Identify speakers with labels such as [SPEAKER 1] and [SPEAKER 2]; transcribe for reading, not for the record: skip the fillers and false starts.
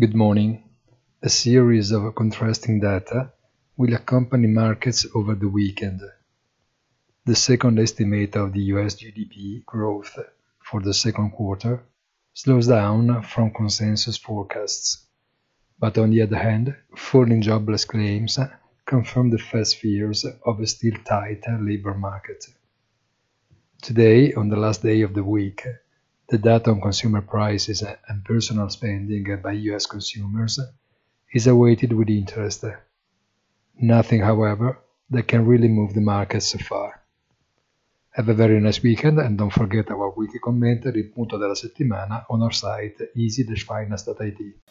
[SPEAKER 1] Good morning. A series of contrasting data will accompany markets over the weekend. The second estimate of the US GDP growth for the second quarter slows down from consensus forecasts. But on the other hand, falling jobless claims confirm the Fed's fears of a still tighter labor market. Today, on the last day of the week, the data on consumer prices and personal spending by US consumers is awaited with interest. Nothing, however, that can really move the market so far. Have a very nice weekend and don't forget our weekly commentary, il punto della settimana, on our site easy-finance.it.